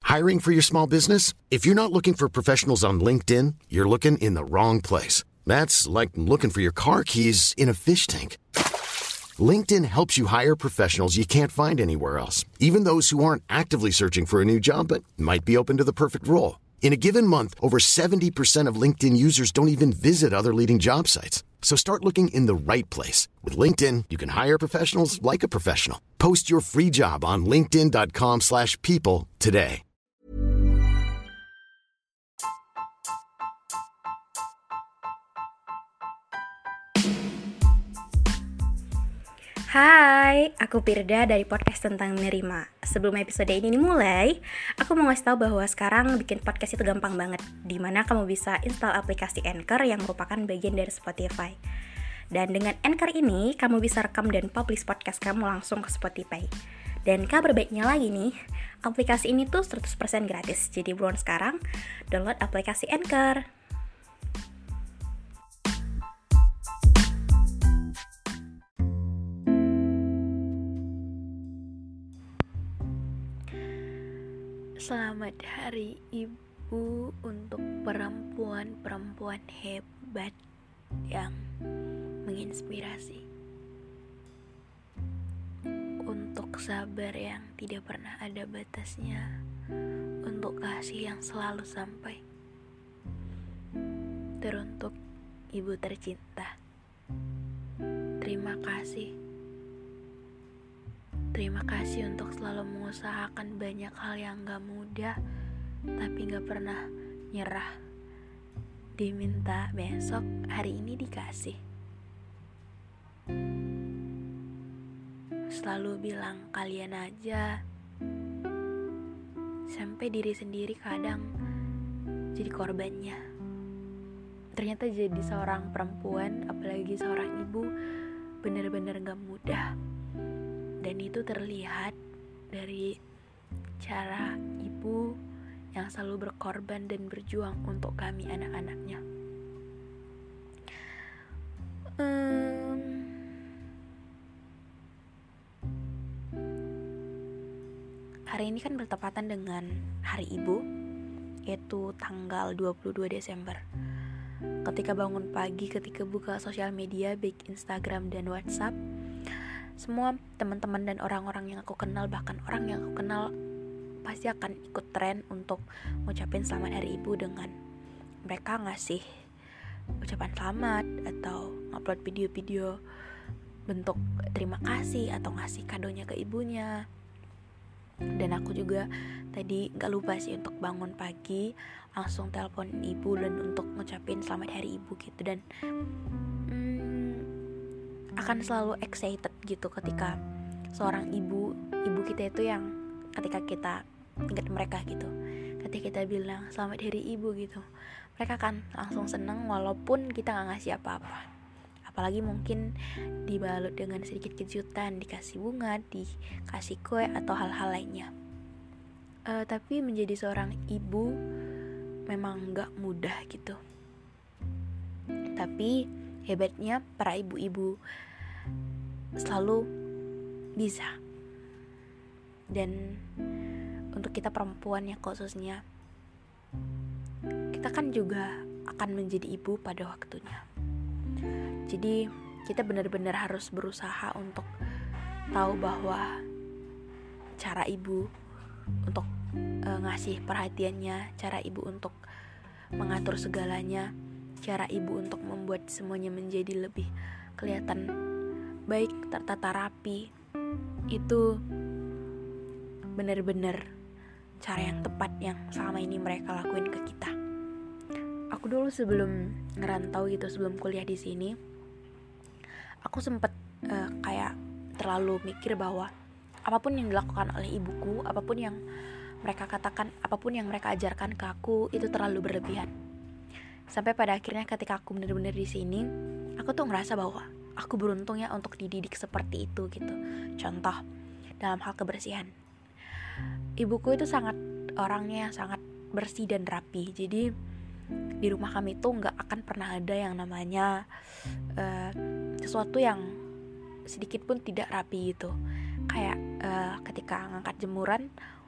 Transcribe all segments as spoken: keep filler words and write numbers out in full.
Hiring for your small business? If you're not looking for professionals on LinkedIn, you're looking in the wrong place. That's like looking for your car keys in a fish tank. LinkedIn helps you hire professionals you can't find anywhere else, even those who aren't actively searching for a new job but might be open to the perfect role. In a given month, over seventy percent of LinkedIn users don't even visit other leading job sites. So start looking in the right place. With LinkedIn, you can hire professionals like a professional. Post your free job on linkedin.com slash people today. Hai, aku Pirda dari podcast tentang menerima. Sebelum episode ini dimulai, aku mau ngasih tahu bahwa sekarang bikin podcast itu gampang banget, dimana kamu bisa install aplikasi Anchor yang merupakan bagian dari Spotify. Dan dengan Anchor ini, kamu bisa rekam dan publish podcast kamu langsung ke Spotify. Dan kabar baiknya lagi nih, aplikasi ini tuh seratus persen gratis. Jadi buruan sekarang, download aplikasi Anchor. Selamat Hari Ibu untuk perempuan-perempuan hebat yang menginspirasi, untuk sabar yang tidak pernah ada batasnya, untuk kasih yang selalu sampai, teruntuk ibu tercinta. Terima kasih. Terima kasih untuk selalu mengusahakan banyak hal yang gak mudah, tapi gak pernah nyerah. Diminta besok, hari ini dikasih. Selalu bilang kalian aja, sampai diri sendiri kadang jadi korbannya. Ternyata jadi seorang perempuan, apalagi seorang ibu, benar-benar gak mudah. Dan itu terlihat dari cara ibu yang selalu berkorban dan berjuang untuk kami anak-anaknya. Um, hari ini kan bertepatan dengan Hari Ibu, yaitu tanggal dua puluh dua Desember. Ketika bangun pagi, ketika buka sosial media, baik Instagram dan WhatsApp, semua teman-teman dan orang-orang yang aku kenal, bahkan orang yang aku kenal, pasti akan ikut tren untuk ngucapin selamat Hari Ibu dengan mereka ngasih ucapan selamat atau upload video-video bentuk terima kasih atau ngasih kadonya ke ibunya. Dan aku juga tadi gak lupa sih untuk bangun pagi langsung telepon ibu dan untuk ngucapin selamat Hari Ibu gitu. Dan akan selalu excited gitu ketika seorang ibu ibu kita itu yang ketika kita ingat mereka gitu, ketika kita bilang selamat Hari Ibu gitu, mereka kan langsung seneng walaupun kita nggak ngasih apa-apa, apalagi mungkin dibalut dengan sedikit kejutan, dikasih bunga, dikasih kue atau hal-hal lainnya. Uh, tapi menjadi seorang ibu memang nggak mudah gitu. Tapi hebatnya para ibu-ibu selalu bisa. Dan untuk kita perempuan ya khususnya, kita kan juga akan menjadi ibu pada waktunya. Jadi kita benar-benar harus berusaha untuk tahu bahwa cara ibu untuk e, ngasih perhatiannya, cara ibu untuk mengatur segalanya, cara ibu untuk membuat semuanya menjadi lebih kelihatan baik, tertata rapi, itu benar-benar cara yang tepat yang selama ini mereka lakuin ke kita. Aku dulu sebelum ngerantau gitu, sebelum kuliah di sini, aku sempet uh, kayak terlalu mikir bahwa apapun yang dilakukan oleh ibuku, apapun yang mereka katakan, apapun yang mereka ajarkan ke aku, itu terlalu berlebihan. Sampai pada akhirnya ketika aku benar-benar di sini, aku tuh ngerasa bahwa aku beruntung ya untuk dididik seperti itu gitu. Contoh dalam hal kebersihan, ibuku itu sangat orangnya sangat bersih dan rapi. Jadi di rumah kami tuh nggak akan pernah ada yang namanya uh, sesuatu yang sedikit pun tidak rapi gitu. Kayak uh, ketika ngangkat jemuran,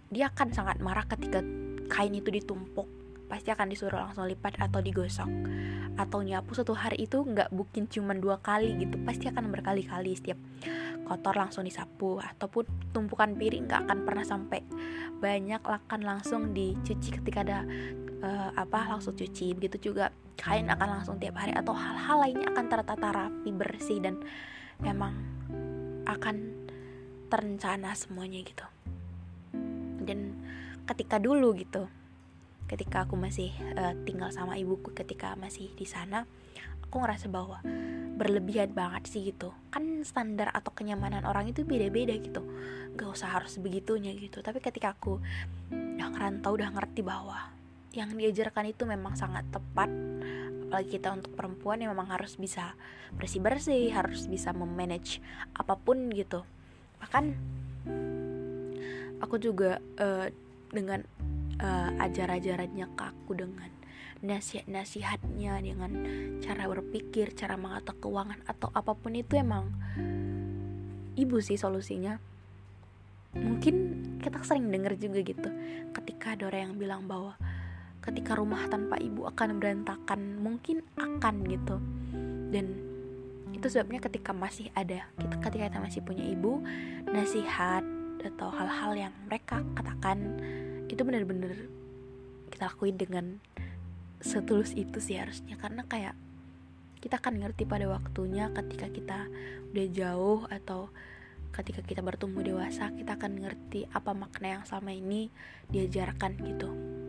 dia akan sangat marah ketika kain itu ditumpuk. Pasti akan disuruh langsung lipat atau digosok. Atau nyapu satu hari itu gak mungkin cuma dua kali gitu, pasti akan berkali-kali. Setiap kotor langsung disapu. Ataupun tumpukan piring gak akan pernah sampai banyak, akan langsung dicuci ketika ada uh, apa langsung cuci. Begitu juga kain akan langsung tiap hari. Atau hal-hal lainnya akan tertata rapi, bersih, dan emang akan terencana semuanya gitu. Dan ketika dulu gitu, ketika aku masih uh, tinggal sama ibuku, ketika masih di sana, aku ngerasa bahwa berlebihan banget sih gitu. Kan standar atau kenyamanan orang itu beda-beda gitu, gak usah harus begitunya gitu. Tapi ketika aku udah ngerantau, udah ngerti bahwa yang diajarkan itu memang sangat tepat. Apalagi kita untuk perempuan yang memang harus bisa bersih-bersih, harus bisa memanage apapun gitu. Bahkan aku juga uh, dengan uh, ajar-ajarannya ke aku, dengan nasihat-nasihatnya, dengan cara berpikir, cara mengatur keuangan atau apapun itu, emang ibu sih solusinya. Mungkin kita sering dengar juga gitu, ketika ada orang yang bilang bahwa ketika rumah tanpa ibu akan berantakan, mungkin akan gitu. Dan itu sebabnya ketika masih ada, kita ketika kita masih punya ibu, nasihat atau hal-hal yang mereka katakan itu benar-benar kita lakuin dengan setulus itu sih harusnya. Karena kayak kita akan ngerti pada waktunya ketika kita udah jauh atau ketika kita bertumbuh dewasa, kita akan ngerti apa makna yang selama ini diajarkan gitu.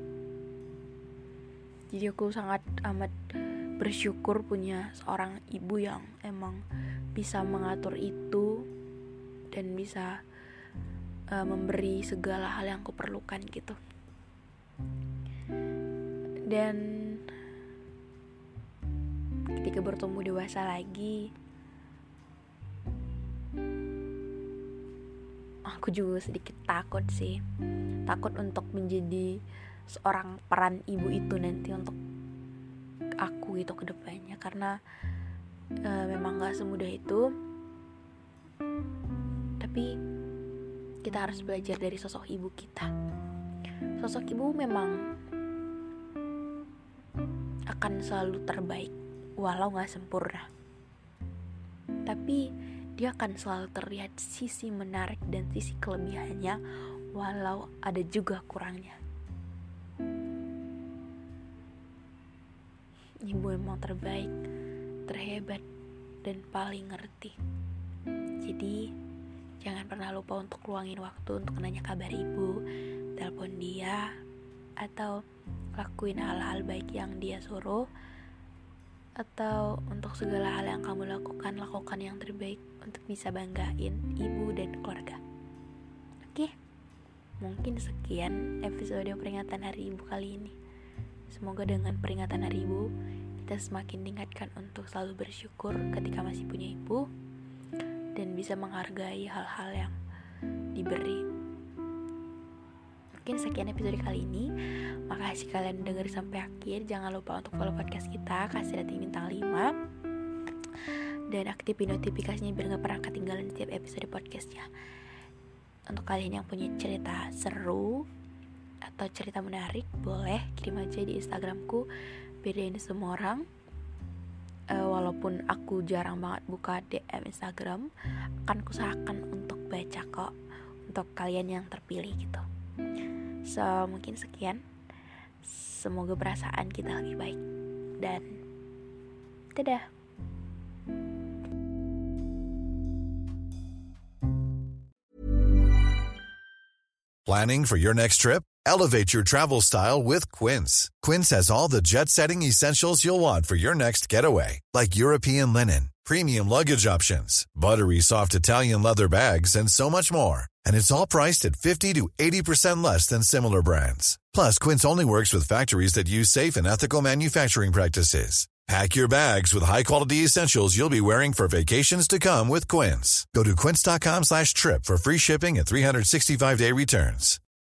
Jadi aku sangat amat bersyukur punya seorang ibu yang emang bisa mengatur itu dan bisa uh, memberi segala hal yang aku perlukan gitu. Dan ketika bertumbuh dewasa lagi, aku juga sedikit takut sih. Takut untuk menjadi seorang peran ibu itu nanti untuk aku gitu ke depannya. Karena e, memang gak semudah itu. Tapi kita harus belajar dari sosok ibu kita. Sosok ibu memang akan selalu terbaik, walau gak sempurna. Tapi dia akan selalu terlihat sisi menarik dan sisi kelebihannya, walau ada juga kurangnya. Ibu emang terbaik, terhebat, dan paling ngerti. Jadi jangan pernah lupa untuk luangin waktu untuk nanya kabar ibu, telepon dia, atau lakuin hal-hal baik yang dia suruh. Atau untuk segala hal yang kamu lakukan, lakukan yang terbaik untuk bisa banggain ibu dan keluarga. Oke, mungkin sekian episode peringatan Hari Ibu kali ini. Semoga dengan peringatan Hari Ibu, kita semakin tingkatkan untuk selalu bersyukur ketika masih punya ibu, dan bisa menghargai hal-hal yang diberi. Mungkin sekian episode kali ini. Makasih kalian denger sampai akhir. Jangan lupa untuk follow podcast kita, kasih rating bintang lima, dan aktifin notifikasinya biar gak pernah ketinggalan setiap episode podcastnya. Untuk kalian yang punya cerita seru atau cerita menarik, boleh kirim aja di Instagramku, bedain semua orang. uh, Walaupun aku jarang banget buka D M Instagram, akan kusahakan untuk baca kok, untuk kalian yang terpilih gitu. So, mungkin sekian. Semoga perasaan kita lebih baik. Dan dadah. Planning for your next trip? Elevate your travel style with Quince. Quince has all the jet-setting essentials you'll want for your next getaway, like European linen, premium luggage options, buttery soft Italian leather bags, and so much more. And it's all priced at fifty to eighty percent less than similar brands. Plus, Quince only works with factories that use safe and ethical manufacturing practices. Pack your bags with high-quality essentials you'll be wearing for vacations to come with Quince. Go to quince.com slash trip for free shipping and three sixty-five day returns.